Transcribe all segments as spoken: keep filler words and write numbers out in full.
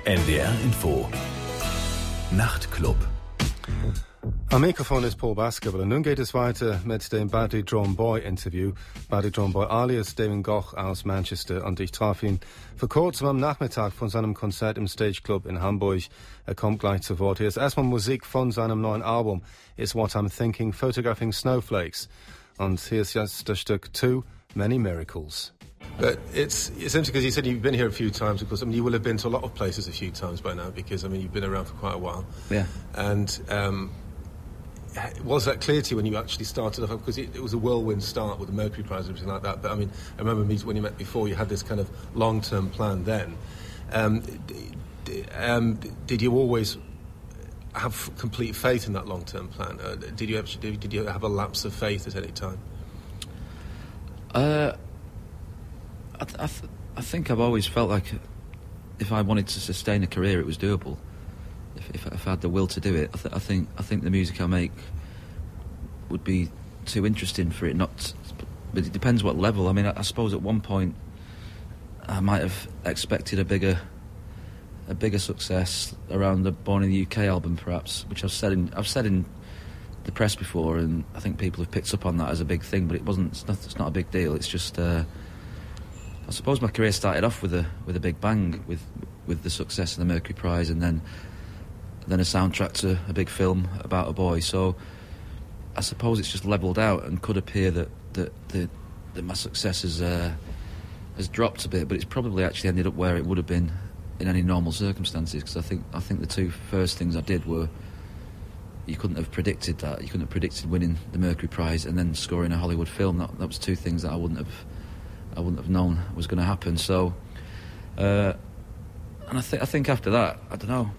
N D R Info Nachtclub. Am Mikrofon ist Paul Baskerville und nun geht es weiter mit dem Buddy John Boy Interview. Buddy John Boy alias Damon Goch aus Manchester, und ich traf ihn vor kurzem am Nachmittag von seinem Konzert im Stage Club in Hamburg. Er kommt gleich zu Wort. Hier ist erstmal Musik von seinem neuen Album Is What I'm Thinking, Photographing Snowflakes. Und hier ist jetzt das Stück Too Many Miracles. But it's essentially because you said you've been here a few times, of course. I mean, you will have been to a lot of places a few times by now because, I mean, you've been around for quite a while. Yeah. And um, was that clear to you when you actually started off? Because it, it was a whirlwind start with the Mercury Prize and everything like that. But, I mean, I remember me, when you met before, you had this kind of long-term plan then. Um, d- d- um, did you always have complete faith in that long-term plan? Uh, did you actually, did you have a lapse of faith at any time? Uh... I, th- I, th- I think I've always felt like if I wanted to sustain a career, it was doable. If, if, if I had the will to do it, I, th- I think I think the music I make would be too interesting for it not. To, but it depends what level. I mean, I, I suppose at one point I might have expected a bigger, a bigger success around the Born in the U K album, perhaps, which I've said in I've said in the press before, and I think people have picked up on that as a big thing. But it wasn't. It's not, it's not a big deal. It's just. Uh, I suppose my career started off with a with a big bang with with the success of the Mercury Prize, and then then a soundtrack to a big film about a boy. So I suppose it's just levelled out, and could appear that that that, that my success has uh, has dropped a bit, but it's probably actually ended up where it would have been in any normal circumstances. Because I think I think the two first things I did were, you couldn't have predicted that. You couldn't have predicted winning the Mercury Prize and then scoring a Hollywood film. That that was two things that I wouldn't have. I wouldn't have known was going to happen. So, uh, and I think I think after that, I don't know.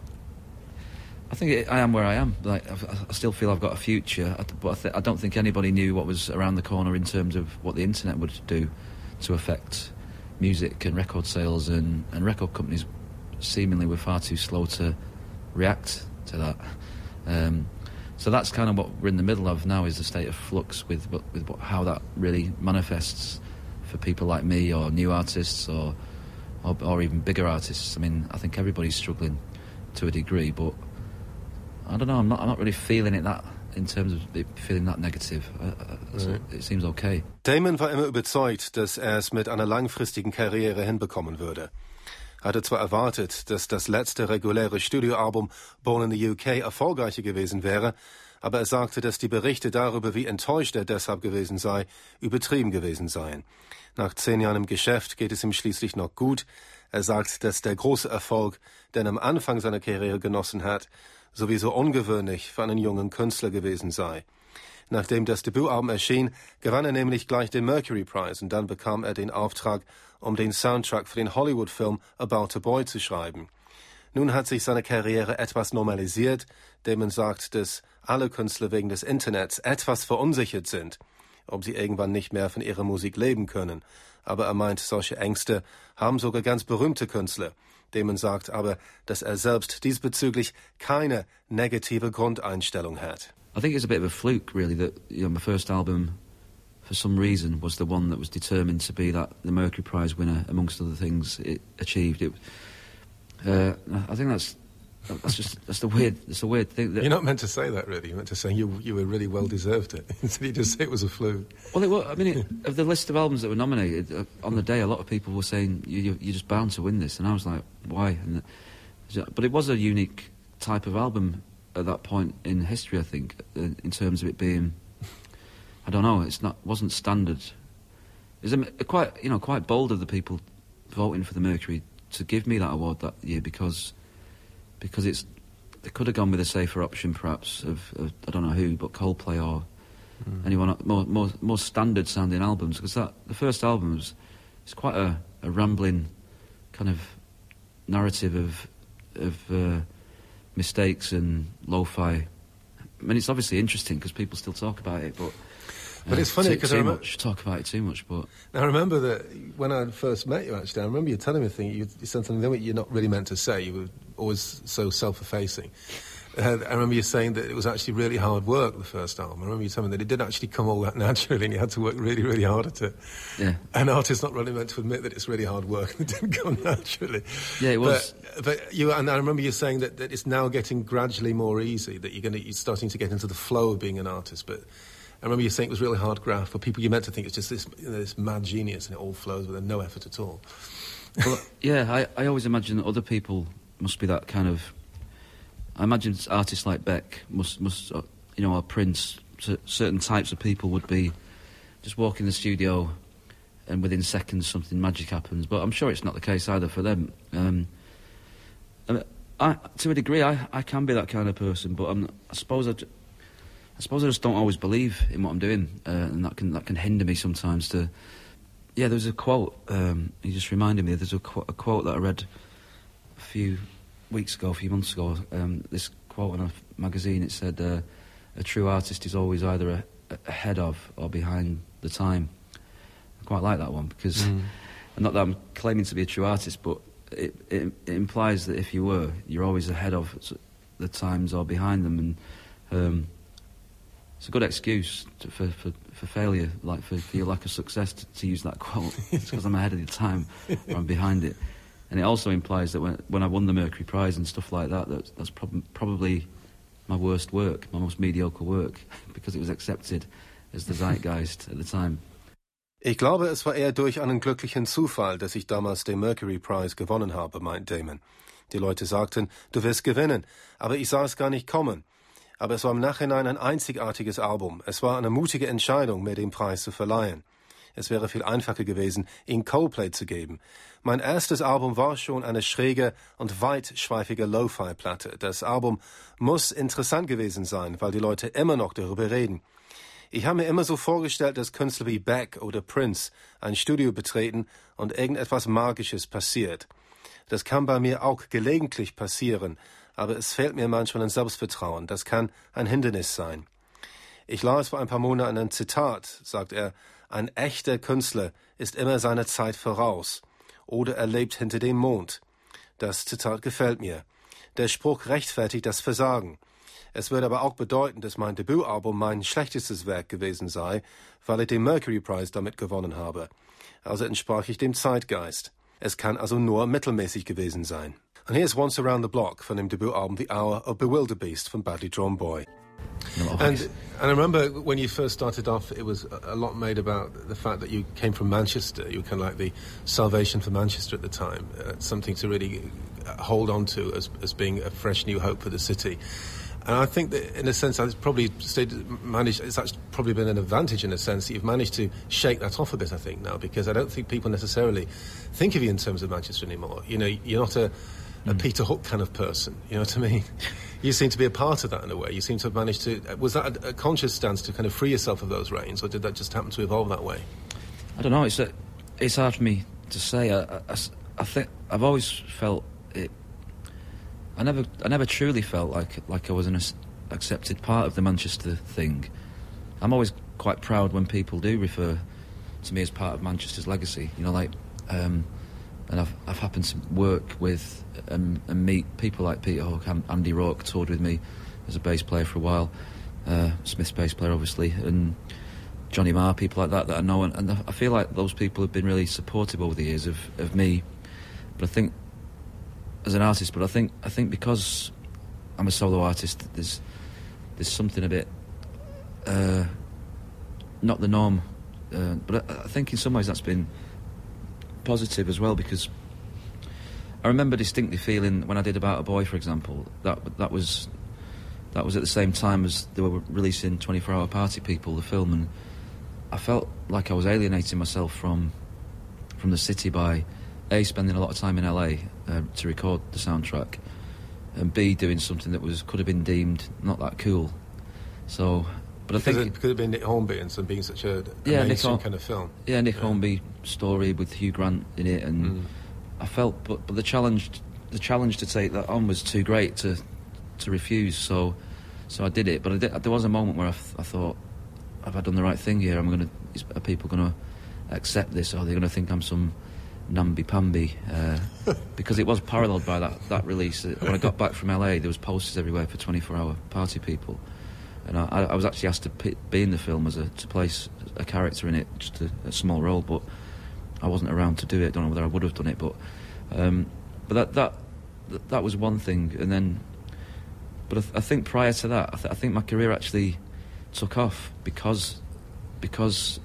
I think it, I am where I am. Like I've, I still feel I've got a future, but I, th- I don't think anybody knew what was around the corner in terms of what the internet would do to affect music and record sales, and, and record companies seemingly were far too slow to react to that. Um, so that's kind of what we're in the middle of now, is the state of flux with with what, how that really manifests for people like me, or new artists, or, or or even bigger artists. I mean, I think everybody's struggling to a degree, but I don't know. I'm not. I'm not really feeling it that in terms of it feeling that negative. Uh, so it seems okay. Damon war immer überzeugt, dass er es mit einer langfristigen Karriere hinbekommen würde. Er hatte zwar erwartet, dass das letzte reguläre Studioalbum Born in the U K erfolgreicher gewesen wäre, aber er sagte, dass die Berichte darüber, wie enttäuscht er deshalb gewesen sei, übertrieben gewesen seien. Nach zehn Jahren im Geschäft geht es ihm schließlich noch gut. Er sagt, dass der große Erfolg, den er am Anfang seiner Karriere genossen hat, sowieso ungewöhnlich für einen jungen Künstler gewesen sei. Nachdem das Debütalbum erschien, gewann er nämlich gleich den Mercury Prize, und dann bekam er den Auftrag, um den Soundtrack für den Hollywood-Film About a Boy zu schreiben. Nun hat sich seine Karriere etwas normalisiert. Damon sagt, dass alle Künstler wegen des Internets etwas verunsichert sind, ob sie irgendwann nicht mehr von ihrer Musik leben können. Aber er meint, solche Ängste haben sogar ganz berühmte Künstler. Damon sagt aber, dass er selbst diesbezüglich keine negative Grundeinstellung hat. I think it's a bit of a fluke, really, that, you know, my first album, for some reason, was the one that was determined to be that the Mercury Prize winner, amongst other things it achieved. It, uh, I think that's that's just that's the weird that's a weird thing. That You're not meant to say that, really. You're meant to say you you were really well deserved it. Instead, you just say it was a fluke. Well, it was, I mean, it, of the list of albums that were nominated uh, on the day, a lot of people were saying you, you you're just bound to win this, and I was like, why? And the, but it was a unique type of album at that point in history, I think, uh, in terms of it being, I don't know, it's not wasn't standard. It's a, a quite you know quite bold of the people voting for the Mercury to give me that award that year, because because it's they could have gone with a safer option, perhaps, of, of I don't know who, but Coldplay or mm. anyone more more more standard sounding albums, because that the first album was it's quite a, a rambling kind of narrative of of uh, mistakes and lo-fi. I mean, it's obviously interesting because people still talk about it, but But uh, it's funny because too, I too remember, much talk about it too much. But now I remember that when I first met you, actually, I remember you telling me a thing. You, you said something that you're not really meant to say. You were always so self-effacing. Uh, I remember you saying that it was actually really hard work, the first album. I remember you telling me that it didn't actually come all that naturally and you had to work really, really hard at it. Yeah. An artist's not really meant to admit that it's really hard work and it didn't come naturally. Yeah, it was. But, but you, and I remember you saying that, that it's now getting gradually more easy, that you're, gonna, you're starting to get into the flow of being an artist. But I remember you saying it was really hard graft for people you meant to think it's just this, you know, this mad genius and it all flows with no effort at all. Well, yeah, I, I always imagine that other people must be that kind of... I imagine artists like Beck must, must uh, you know, or Prince, c- certain types of people would be just walk in the studio and within seconds something magic happens. But I'm sure it's not the case either for them. Um, I, I, to a degree, I, I can be that kind of person, but I'm, I suppose I, I suppose I just don't always believe in what I'm doing, uh, and that can that can hinder me sometimes. To yeah, there was a quote. Um, you just reminded me. There's a, qu- a quote that I read a few weeks ago, a few months ago, um, this quote in a magazine, it said, uh, a true artist is always either a, ahead of or behind the time. I quite like that one, because, mm. not that I'm claiming to be a true artist, but it, it, it implies that if you were, you're always ahead of the times or behind them, and um, it's a good excuse to, for, for, for failure, like for, for your lack of success, to, to use that quote. It's because I'm ahead of the time, or I'm behind it. And it also implies that when, when I won the Mercury Prize and stuff like that, that that's prob- probably my worst work, my most mediocre work, because it was accepted as the Zeitgeist at the time. Ich glaube, es war eher durch einen glücklichen Zufall, dass ich damals den Mercury Prize gewonnen habe, meint Damon. Die Leute sagten, du wirst gewinnen, aber ich sah es gar nicht kommen. Aber es war im Nachhinein ein einzigartiges Album. Es war eine mutige Entscheidung, mir den Preis zu verleihen. Es wäre viel einfacher gewesen, ihn Coldplay zu geben. Mein erstes Album war schon eine schräge und weitschweifige Lo-Fi-Platte. Das Album muss interessant gewesen sein, weil die Leute immer noch darüber reden. Ich habe mir immer so vorgestellt, dass Künstler wie Beck oder Prince ein Studio betreten und irgendetwas Magisches passiert. Das kann bei mir auch gelegentlich passieren, aber es fehlt mir manchmal an Selbstvertrauen. Das kann ein Hindernis sein. Ich las vor ein paar Monaten ein Zitat, sagt er, ein echter Künstler ist immer seiner Zeit voraus oder er lebt hinter dem Mond. Das Zitat gefällt mir. Der Spruch rechtfertigt das Versagen. Es würde aber auch bedeuten, dass mein Debütalbum mein schlechtestes Werk gewesen sei, weil ich den Mercury Prize damit gewonnen habe. Also entsprach ich dem Zeitgeist. Es kann also nur mittelmäßig gewesen sein. And here's Once Around the Block von dem Debütalbum The Hour of Bewilderbeast von Badly Drawn Boy. No, and, and I remember when you first started off, it was a lot made about the fact that you came from Manchester. You were kind of like the salvation for Manchester at the time, uh, something to really hold on to as, as being a fresh new hope for the city. And I think that, in a sense, it's probably stayed, managed. It's actually probably been an advantage in a sense that you've managed to shake that off a bit. I think now, because I don't think people necessarily think of you in terms of Manchester anymore. You know, you're not a, a mm. Peter Hook kind of person. You know what I mean? You seem to be a part of that in a way. You seem to have managed to... Was that a, a conscious stance to kind of free yourself of those reins, or did that just happen to evolve that way? I don't know. It's a, it's hard for me to say. I, I, I think I've always felt it... I never I never truly felt like like I was an accepted part of the Manchester thing. I'm always quite proud when people do refer to me as part of Manchester's legacy. You know, like... Um, and I've I've happened to work with um, and meet people like Peter Hook. Andy Rourke toured with me as a bass player for a while, uh, Smith's bass player obviously, and Johnny Marr, people like that that I know, and, and I feel like those people have been really supportive over the years of, of me. But I think as an artist, but I think I think because I'm a solo artist, there's there's something a bit uh, not the norm, uh, but I, I think in some ways that's been positive as well, because I remember distinctly feeling when I did About a Boy, for example, that that was that was at the same time as they were releasing twenty-four hour Party People, the film, and I felt like I was alienating myself from from the city by A, spending a lot of time in L A uh, to record the soundtrack, and B, doing something that was could have been deemed not that cool. So, but I because think it could have been Nick Hornby and some being such a, a yeah, mainstream Nick, kind of film. Yeah, Nick yeah. Hornby story with Hugh Grant in it, and mm. I felt, but but the challenge, the challenge to take that on was too great to to refuse. So, so I did it. But I did, there was a moment where I, th- I thought, have I done the right thing here? Am I going to? Are people going to accept this? Or are they going to think I'm some Namby Pamby, uh, because it was paralleled by that, that release. When I got back from L A, there was posters everywhere for twenty-four hour Party People, and I, I was actually asked to p- be in the film as a to play a character in it, just a, a small role, but I wasn't around to do it. I don't know whether I would have done it, but um, but that that that was one thing, and then. But I, th- I think prior to that, I, th- I think my career actually took off because because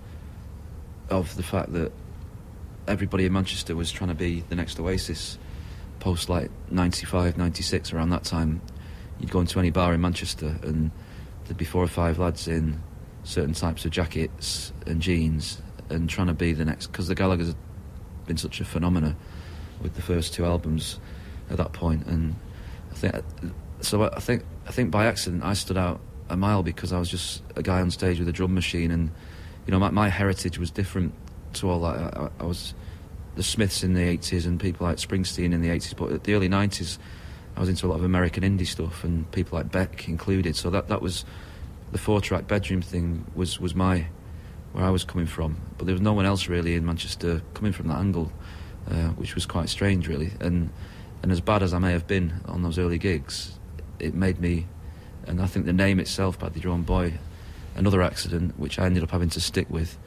of the fact that everybody in Manchester was trying to be the next Oasis. Post like ninety-five, ninety-six, around that time, you'd go into any bar in Manchester and there'd be four or five lads in certain types of jackets and jeans and trying to be the next, because the Gallagher's had been such a phenomena with the first two albums at that point, and I think so. I think I think by accident I stood out a mile because I was just a guy on stage with a drum machine, and you know my, my heritage was different to all that. I, I was the Smiths in the eighties and people like Springsteen in the eighties, but at the early nineties I was into a lot of American indie stuff and people like Beck included, so that that was the four track bedroom thing was was my where I was coming from, but there was no one else really in Manchester coming from that angle, uh, which was quite strange really. And and as bad as I may have been on those early gigs, it made me, and I think the name itself, Badly Drawn Boy, another accident which I ended up having to stick with.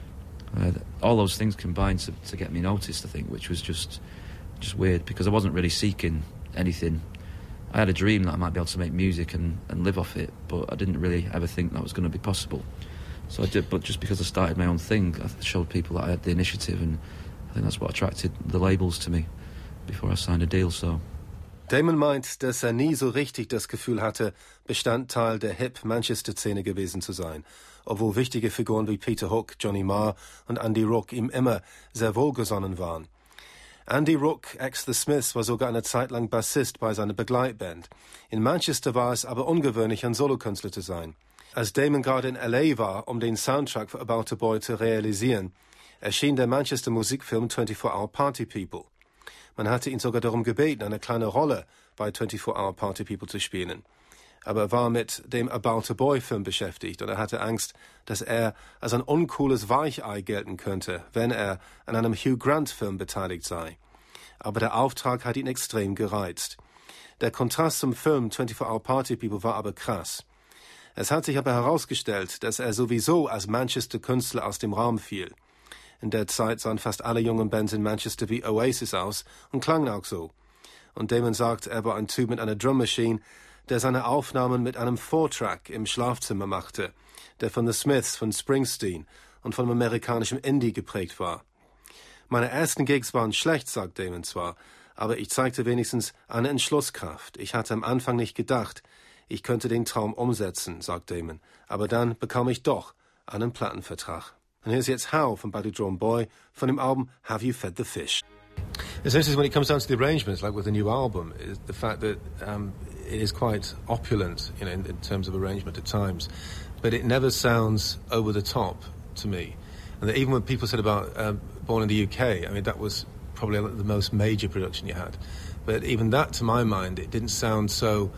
Uh, all those things combined to, to get me noticed, I think, which was just just weird because I wasn't really seeking anything. I had a dream that I might be able to make music and, and live off it, but I didn't really ever think that was going to be possible. So I did, but just because I started my own thing, I showed people that I had the initiative, and I think that's what attracted the labels to me before I signed a deal. So. Damon meint, dass er nie so richtig das Gefühl hatte, Bestandteil der Hip-Manchester-Szene gewesen zu sein, obwohl wichtige Figuren wie Peter Hook, Johnny Marr und Andy Rook ihm immer sehr wohlgesonnen waren. Andy Rook, ex-The Smiths, war sogar eine Zeit lang Bassist bei seiner Begleitband. In Manchester war es aber ungewöhnlich, ein Solokünstler zu sein. Als Damon gerade in L A war, um den Soundtrack für About a Boy zu realisieren, erschien der Manchester-Musikfilm twenty-four hour Party People. Man hatte ihn sogar darum gebeten, eine kleine Rolle bei twenty-four hour Party People zu spielen. Aber er war mit dem About a Boy-Film beschäftigt und er hatte Angst, dass er als ein uncooles Weichei gelten könnte, wenn er an einem Hugh Grant-Film beteiligt sei. Aber der Auftrag hat ihn extrem gereizt. Der Kontrast zum Film twenty-four hour Party People war aber krass. Es hat sich aber herausgestellt, dass er sowieso als Manchester-Künstler aus dem Raum fiel. In der Zeit sahen fast alle jungen Bands in Manchester wie Oasis aus und klangen auch so. Und Damon sagt, er war ein Typ mit einer Drummmaschine, der seine Aufnahmen mit einem Four-Track im Schlafzimmer machte, der von The Smiths, von Springsteen und von amerikanischem Indie geprägt war. Meine ersten Gigs waren schlecht, sagt Damon zwar, aber ich zeigte wenigstens eine Entschlusskraft. Ich hatte am Anfang nicht gedacht, ich könnte den Traum umsetzen, sagt Damon, aber dann bekam ich doch einen Plattenvertrag. Und here's jetzt How von Badly Drawn Boy von dem Album Have You Fed the Fish? Essentially, when it comes down to the arrangements, like with the new album, is the fact that um, it is quite opulent, you know, in, in terms of arrangement at times, but it never sounds over the top to me. And that even when people said about um, Born in the U K, I mean, that was probably the most major production you had. But even that, to my mind, it didn't sound so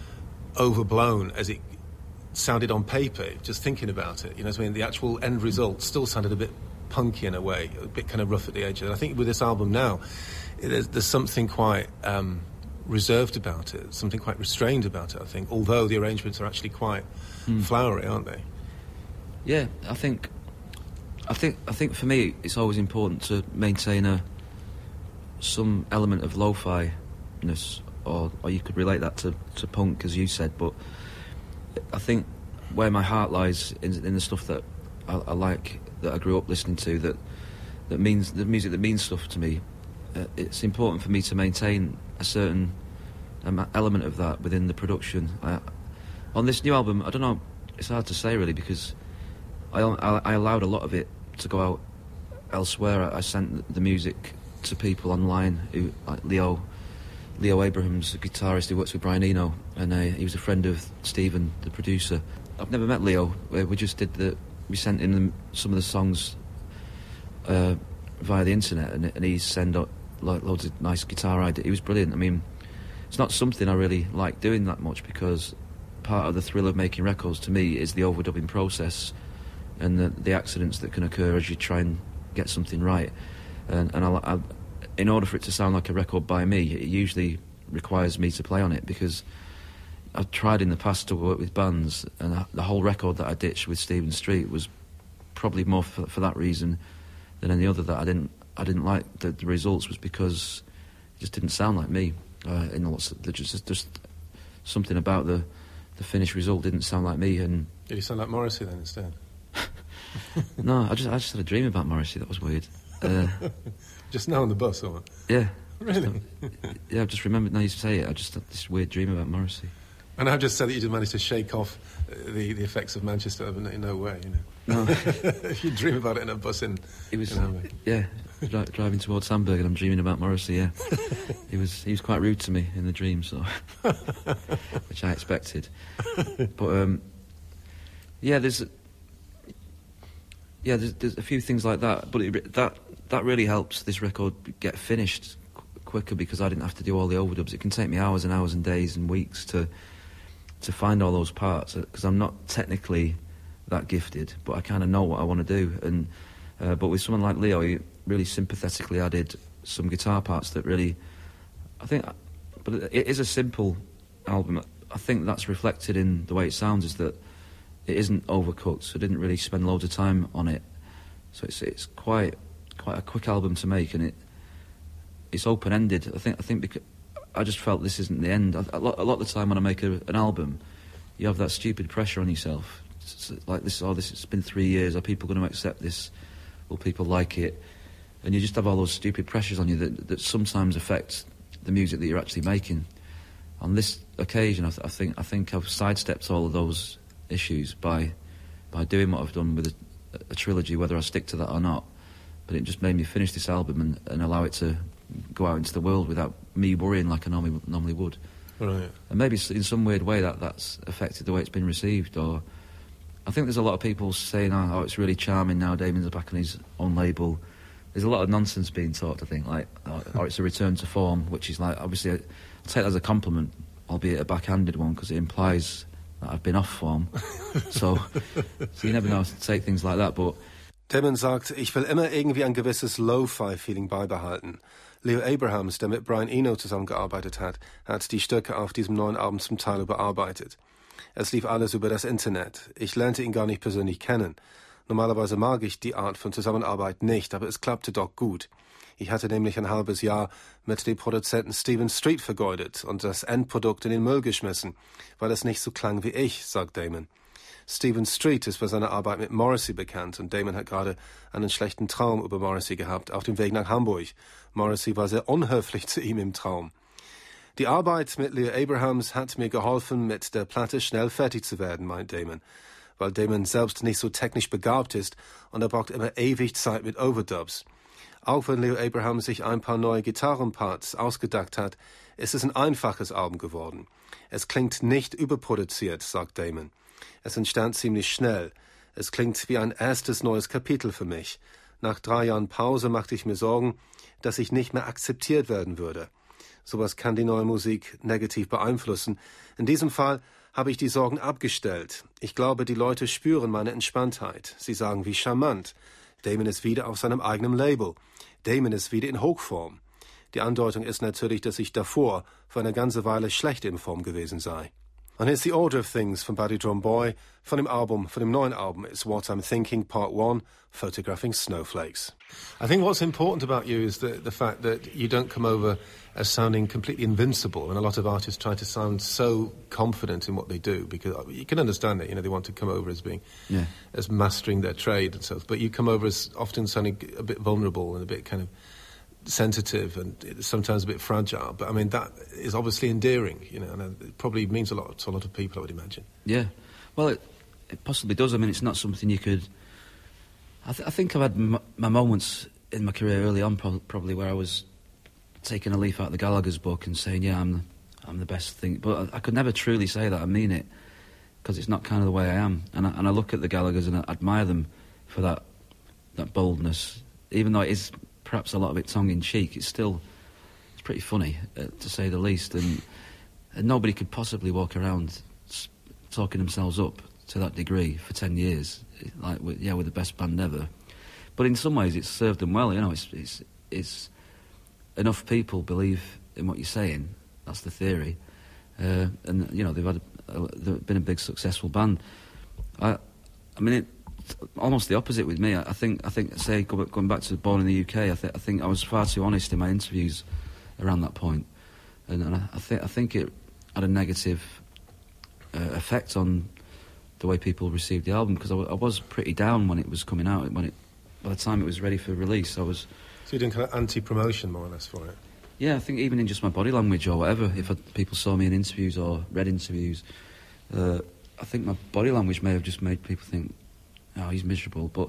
overblown as it sounded on paper, just thinking about it. You know what I mean? The actual end result still sounded a bit punky in a way, a bit kind of rough at the edges. And I think with this album now, there's, there's something quite um, reserved about it, something quite restrained about it, I think, although the arrangements are actually quite mm. flowery, aren't they? Yeah, I think, I think, I think for me, it's always important to maintain a some element of lo-fi-ness, or or you could relate that to, to punk, as you said, but I think where my heart lies in, in the stuff that I, I like, that I grew up listening to, that that means the music that means stuff to me. Uh, it's important for me to maintain a certain um, element of that within the production. I, on this new album, I don't know. It's hard to say really because I, I, I allowed a lot of it to go out elsewhere. I, I sent the music to people online, who like Leo. Leo Abrahams, a guitarist who works with Brian Eno, and uh, he was a friend of Stephen, the producer. I've never met Leo. We just did the, we sent in them some of the songs uh, via the internet, and, and he sent out like loads of nice guitar ideas. He was brilliant. I mean, it's not something I really like doing that much because part of the thrill of making records to me is the overdubbing process and the, the accidents that can occur as you try and get something right. and, and I, I, in order for it to sound like a record by me, it usually requires me to play on it, because I've tried in the past to work with bands, and the whole record that I ditched with Stephen Street was probably more for, for that reason than any other, that I didn't I didn't like the, the results, was because it just didn't sound like me. Uh, in lots of, just just something about the the finished result didn't sound like me. And did you sound like Morrissey then instead? No, I just I just had a dream about Morrissey. That was weird. Uh, just now on the bus, or what? Yeah. Really? Yeah, I've just remembered now you say it. I just had this weird dream about Morrissey. And I've just said that you didn't manage to shake off the, the effects of Manchester in, in no way, you know. No. If you dream about it in a bus in... It was, in Hamburg. Yeah, dri- driving towards Hamburg and I'm dreaming about Morrissey, yeah. he was he was quite rude to me in the dream, so... which I expected. But, um... yeah, there's... Yeah, there's, there's a few things like that, but it, that that really helps this record get finished qu- quicker, because I didn't have to do all the overdubs. It can take me hours and hours and days and weeks to to find all those parts, because I'm not technically that gifted, but I kind of know what I want to do. And uh, but with someone like Leo, he really sympathetically added some guitar parts that really, I think, but it is a simple album. I think that's reflected in the way it sounds, is that it isn't overcooked, so I didn't really spend loads of time on it. So it's it's quite quite a quick album to make, and it it's open ended. I think I think because I just felt this isn't the end. A lot, a lot of the time when I make a, an album, you have that stupid pressure on yourself. It's like this, oh, this it's been three years. Are people going to accept this? Will people like it? And you just have all those stupid pressures on you that that sometimes affect the music that you're actually making. On this occasion, I, th- I think I think I've sidestepped all of those issues by by doing what I've done with a, a trilogy, whether I stick to that or not. But it just made me finish this album and, and allow it to go out into the world without me worrying like I normally normally would. Right. And maybe in some weird way that that's affected the way it's been received. Or I think there's a lot of people saying, "Oh, oh it's really charming now. Damon's back on his own label." There's a lot of nonsense being talked, I think, like, oh, or it's a return to form, which is like, obviously, I'll take that as a compliment, albeit a backhanded one, because it implies that I've been off form. so, so you never know how to take things like that, but... Damon sagt, ich will immer irgendwie ein gewisses Lo-Fi-Feeling beibehalten. Leo Abrahams, der mit Brian Eno zusammengearbeitet hat, hat die Stücke auf diesem neuen Album zum Teil überarbeitet. Es lief alles über das Internet. Ich lernte ihn gar nicht persönlich kennen. Normalerweise mag ich die Art von Zusammenarbeit nicht, aber es klappte doch gut. Ich hatte nämlich ein halbes Jahr mit dem Produzenten Stephen Street vergeudet und das Endprodukt in den Müll geschmissen, weil es nicht so klang wie ich, sagt Damon. Stephen Street ist für seine Arbeit mit Morrissey bekannt und Damon hat gerade einen schlechten Traum über Morrissey gehabt, auf dem Weg nach Hamburg. Morrissey war sehr unhöflich zu ihm im Traum. Die Arbeit mit Leo Abrahams hat mir geholfen, mit der Platte schnell fertig zu werden, meint Damon, weil Damon selbst nicht so technisch begabt ist und er braucht immer ewig Zeit mit Overdubs. Auch wenn Leo Abrahams sich ein paar neue Gitarrenparts ausgedacht hat, ist es ein einfaches Album geworden. Es klingt nicht überproduziert, sagt Damon. Es entstand ziemlich schnell. Es klingt wie ein erstes neues Kapitel für mich. Nach drei Jahren Pause machte ich mir Sorgen, dass ich nicht mehr akzeptiert werden würde. Sowas kann die neue Musik negativ beeinflussen. In diesem Fall habe ich die Sorgen abgestellt. Ich glaube, die Leute spüren meine Entspanntheit. Sie sagen, wie charmant. Damon ist wieder auf seinem eigenen Label. Damon ist wieder in Hochform. Die Andeutung ist natürlich, dass ich davor für eine ganze Weile schlecht in Form gewesen sei. And here's the order of things from Buddy Drum Boy. Von dem Album, von dem neuen Album, it's What I'm Thinking, Part One, Photographing Snowflakes. I think what's important about you is the, the fact that you don't come over as sounding completely invincible, and a lot of artists try to sound so confident in what they do, because you can understand it, you know, they want to come over as being, yeah. as mastering their trade and so forth, but you come over as often sounding a bit vulnerable and a bit kind of sensitive and sometimes a bit fragile, but I mean that is obviously endearing, you know, and it probably means a lot to a lot of people, I would imagine. Yeah, well, it, it possibly does. I mean, it's not something you could. I, th- I think I've had m- my moments in my career early on, pro- probably where I was taking a leaf out of the Gallagher's book and saying, "Yeah, I'm, the, I'm the best thing," but I, I could never truly say that. I mean it, because it's not kind of the way I am, and I, and I look at the Gallagher's and I admire them for that that boldness, even though it is perhaps a lot of it tongue-in-cheek, it's still, it's pretty funny, uh, to say the least, and, and nobody could possibly walk around s- talking themselves up to that degree for ten years, like, with, yeah, we're the best band ever. But in some ways it's served them well, you know, it's, it's it's enough people believe in what you're saying. That's the theory, uh, and you know they've had a, a, they've been a big successful band. I, I mean, it, almost the opposite with me. I, I think I think say going back to Born in the U K, I, th- I think I was far too honest in my interviews around that point, and, and I, I think I think it had a negative uh, effect on the way people received the album, because I, w- I was pretty down when it was coming out. When it, by the time it was ready for release, I was. So you're doing kind of anti-promotion, more or less, for it? Yeah, I think even in just my body language or whatever, if I, people saw me in interviews or read interviews, uh, I think my body language may have just made people think, oh, he's miserable, but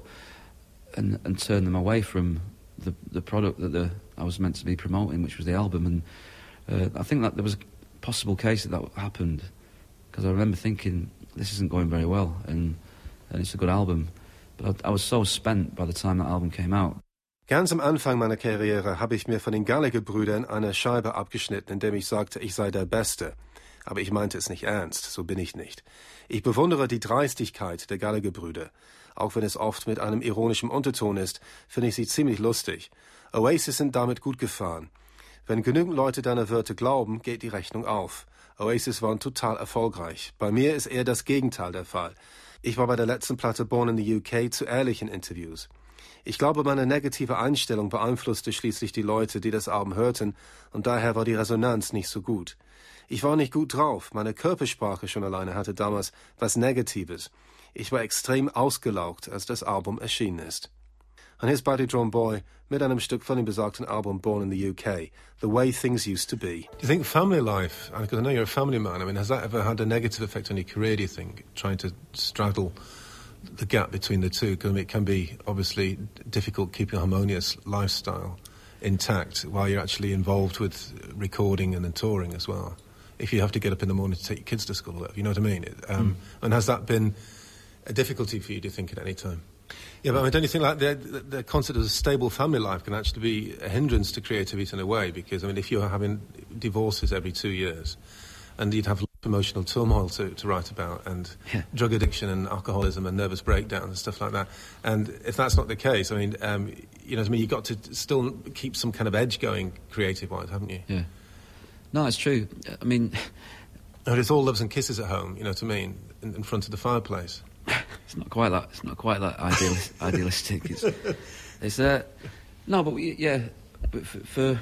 and and turn them away from the the product that the, I was meant to be promoting, which was the album. And uh, I think that there was a possible case that that happened, because I remember thinking, this isn't going very well, and, and it's a good album. But I, I was so spent by the time that album came out. Ganz am Anfang meiner Karriere habe ich mir von den Gallagher-Brüdern eine Scheibe abgeschnitten, indem ich sagte, ich sei der Beste. Aber ich meinte es nicht ernst, so bin ich nicht. Ich bewundere die Dreistigkeit der Gallagher-Brüder. Auch wenn es oft mit einem ironischen Unterton ist, finde ich sie ziemlich lustig. Oasis sind damit gut gefahren. Wenn genügend Leute deine Wörter glauben, geht die Rechnung auf. Oasis waren total erfolgreich. Bei mir ist eher das Gegenteil der Fall. Ich war bei der letzten Platte Born in the U K zu ehrlich in Interviews. Ich glaube, meine negative Einstellung beeinflusste schließlich die Leute, die das Album hörten, und daher war die Resonanz nicht so gut. Ich war nicht gut drauf, meine Körpersprache schon alleine hatte damals was Negatives. Ich war extrem ausgelaugt, als das Album erschienen ist. Und hier ist Buddy Drum Boy mit einem Stück von dem besagten Album Born in the U K, The Way Things Used to Be. Do you think family life, because I know you're a family man, I mean, has that ever had a negative effect on your career, do you think, trying to straddle the gap between the two? Because I mean, it can be obviously difficult keeping a harmonious lifestyle intact while you're actually involved with recording and then touring as well. If you have to get up in the morning to take your kids to school, or whatever, you know what I mean? Um, mm. And has that been a difficulty for you, do you think, at any time? Yeah, but I mean, don't you think like the, the, the concept of a stable family life can actually be a hindrance to creativity in a way? Because, I mean, if you're having divorces every two years and you'd have emotional turmoil to, to write about, and yeah. drug addiction and alcoholism and nervous breakdowns and stuff like that. And if that's not the case, I mean, um, you know what I mean, you've got to still keep some kind of edge going creative-wise, haven't you? Yeah. No, it's true. I mean... And it's all loves and kisses at home, you know what I mean, in, in front of the fireplace. It's not quite that. It's not quite that ideal, idealistic. It's, it's uh, no, but we, yeah, but for, for,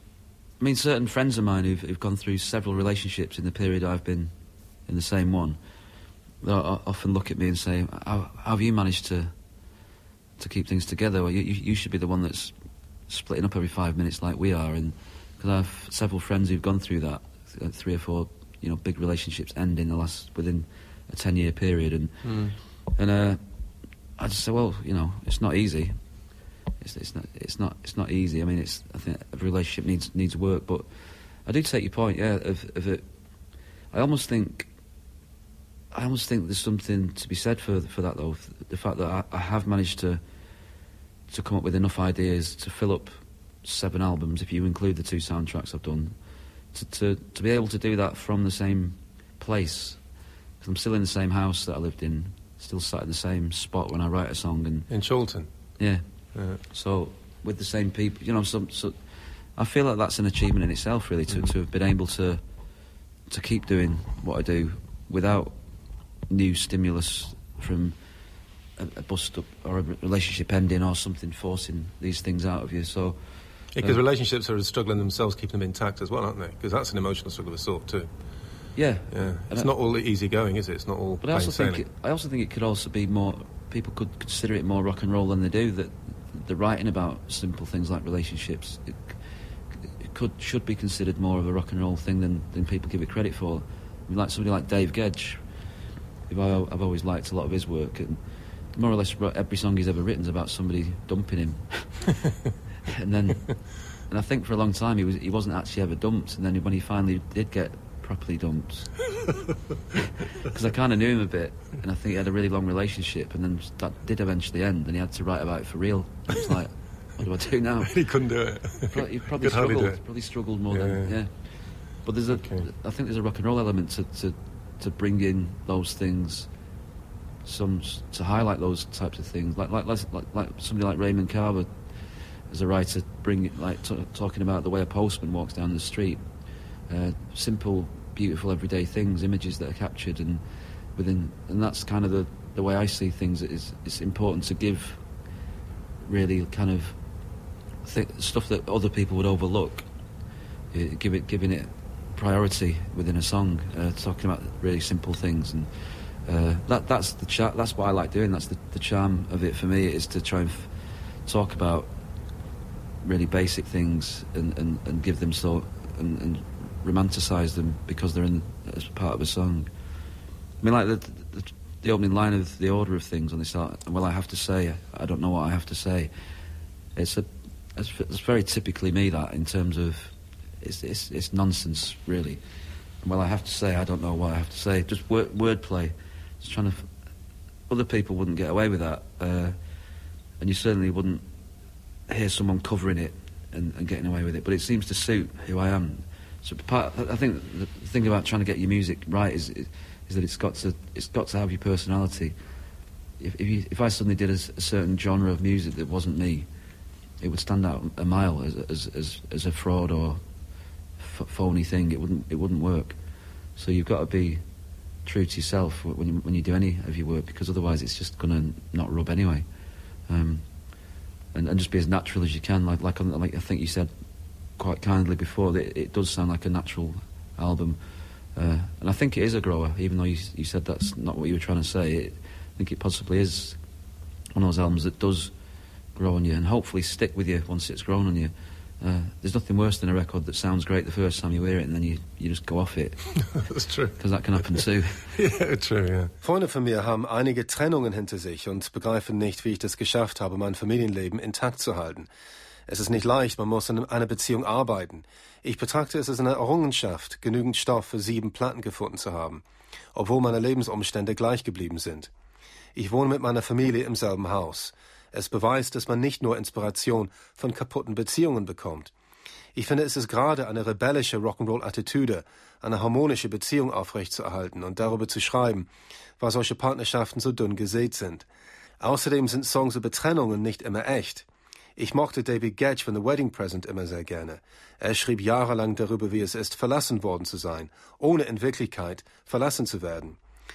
I mean, certain friends of mine who've, who've gone through several relationships in the period I've been in the same one, they often look at me and say, "How, how have you managed to to keep things together? Well, you, you should be the one that's splitting up every five minutes like we are." And because I have several friends who've gone through that, three or four, you know, big relationships end in the last within a ten-year period, and. Mm. And uh, I just say, well, you know, it's not easy. It's, it's not. It's not. It's not easy. I mean, it's. I think every relationship needs needs work. But I do take your point. Yeah, of, of it. I almost think. I almost think there's something to be said for for that, though. The fact that I, I have managed to to come up with enough ideas to fill up seven albums, if you include the two soundtracks I've done, to to, to be able to do that from the same place. Because I'm still in the same house that I lived in. Still sat in the same spot when I write a song, and in Chorlton. Yeah. yeah. So with the same people, you know. Some, so I feel like that's an achievement in itself, really, to, mm-hmm. to have been able to to keep doing what I do without new stimulus from a, a bust-up or a relationship ending or something forcing these things out of you. So because uh, relationships are struggling themselves, keeping them intact as well, aren't they? Because that's an emotional struggle of a sort too. Yeah, yeah. It's not all easy going, is it? It's not all. But I also think it, I also think it could also be more. People could consider it more rock and roll than they do. That the writing about simple things like relationships, it, it could should be considered more of a rock and roll thing than, than people give it credit for. I mean, like somebody like Dave Gedge, who I, I've always liked a lot of his work, and more or less every song he's ever written is about somebody dumping him. and then, and I think for a long time he was he wasn't actually ever dumped, and then when he finally did get properly dumped, because I kind of knew him a bit, and I think he had a really long relationship, and then that did eventually end, and he had to write about it for real. And it's like, what do I do now? He couldn't do it. Probably, he probably struggled. Probably struggled more yeah, than yeah. yeah. But there's a, okay. I think there's a rock and roll element to, to to bring in those things, some to highlight those types of things, like like like, like somebody like Raymond Carver, as a writer, bring like t- talking about the way a postman walks down the street, uh, simple, beautiful, everyday things, images that are captured, and within, and that's kind of the, the way I see things. It's, it's important to give really kind of th- stuff that other people would overlook, uh, give it, giving it priority within a song, uh, talking about really simple things, and uh, that that's the char- that's what I like doing. That's the, the charm of it for me, is to try and f- talk about really basic things and, and, and give them so and, and romanticise them because they're in as part of a song. I mean, like the, the the opening line of The Order of Things on this art, well, I have to say, I don't know what I have to say. It's a it's, it's very typically me, that, in terms of it's it's, it's nonsense, really. And, well, I have to say, I don't know what I have to say. Just word wordplay. Just trying to. Other people wouldn't get away with that, uh, and you certainly wouldn't hear someone covering it and, and getting away with it. But it seems to suit who I am. So part, I think the thing about trying to get your music right is is that it's got to it's got to have your personality. If if, you, if I suddenly did a, a certain genre of music that wasn't me, it would stand out a mile as as as, as a fraud or f- phony thing. It wouldn't it wouldn't work. So you've got to be true to yourself when you when you do any of your work, because otherwise it's just going to not rub anyway. Um, and, and just be as natural as you can, like like like I think you said quite kindly before, that it, it does sound like a natural album, uh, and I think it is a grower, even though you, you said that's not what you were trying to say. It, I think it possibly is one of those albums that does grow on you and hopefully stick with you once it's grown on you. Uh, there's nothing worse than a record that sounds great the first time you hear it and then you, you just go off it. That's true. Because that can happen too. Yeah, true, yeah. Freunde von mir haben einige Trennungen hinter sich und begreifen nicht, wie ich das geschafft habe, mein Familienleben intakt zu halten. Es ist nicht leicht, man muss in einer Beziehung arbeiten. Ich betrachte es als eine Errungenschaft, genügend Stoff für sieben Platten gefunden zu haben, obwohl meine Lebensumstände gleich geblieben sind. Ich wohne mit meiner Familie im selben Haus. Es beweist, dass man nicht nur Inspiration von kaputten Beziehungen bekommt. Ich finde, es ist gerade eine rebellische Rock'n'Roll-Attitüde, eine harmonische Beziehung aufrechtzuerhalten und darüber zu schreiben, weil solche Partnerschaften so dünn gesät sind. Außerdem sind Songs über Trennungen nicht immer echt. Ich mochte David Gedge von The Wedding Present immer sehr gerne. Er schrieb jahrelang darüber, wie es ist, verlassen worden zu sein, ohne in Wirklichkeit verlassen zu werden.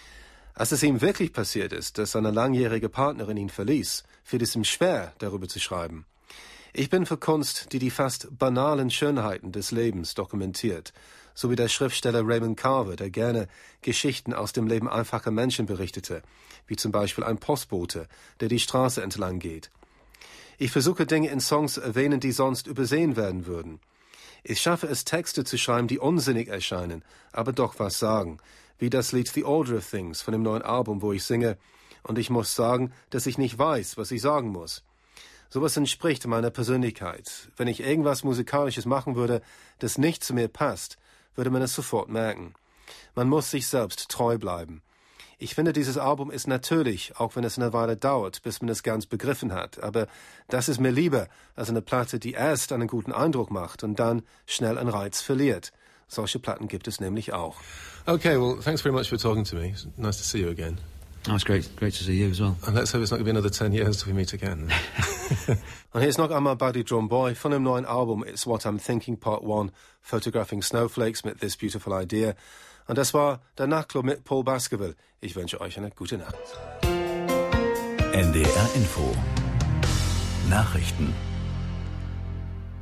Als es ihm wirklich passiert ist, dass seine langjährige Partnerin ihn verließ, fiel es ihm schwer, darüber zu schreiben. Ich bin für Kunst, die die fast banalen Schönheiten des Lebens dokumentiert, so wie der Schriftsteller Raymond Carver, der gerne Geschichten aus dem Leben einfacher Menschen berichtete, wie zum Beispiel ein Postbote, der die Straße entlang geht. Ich versuche, Dinge in Songs zu erwähnen, die sonst übersehen werden würden. Ich schaffe es, Texte zu schreiben, die unsinnig erscheinen, aber doch was sagen, wie das Lied The Order of Things von dem neuen Album, wo ich singe, und ich muss sagen, dass ich nicht weiß, was ich sagen muss. Sowas entspricht meiner Persönlichkeit. Wenn ich irgendwas Musikalisches machen würde, das nicht zu mir passt, würde man es sofort merken. Man muss sich selbst treu bleiben. Ich finde, dieses Album ist natürlich, auch wenn es eine Weile dauert, bis man es ganz begriffen hat. Aber das ist mir lieber als eine Platte, die erst einen guten Eindruck macht und dann schnell an Reiz verliert. Solche Platten gibt es nämlich auch. Okay, well, thanks very much for talking to me. It's nice to see you again. Oh, it's great, great to see you as well. And let's hope it's not going to be another ten years till we meet again. Und hier ist noch einmal Buddy Drum Boy von dem neuen Album It's What I'm Thinking Part One, Photographing Snowflakes mit This Beautiful Idea. Und das war der Nachtclub mit Paul Baskerville. Ich wünsche euch eine gute Nacht. N D R Info Nachrichten.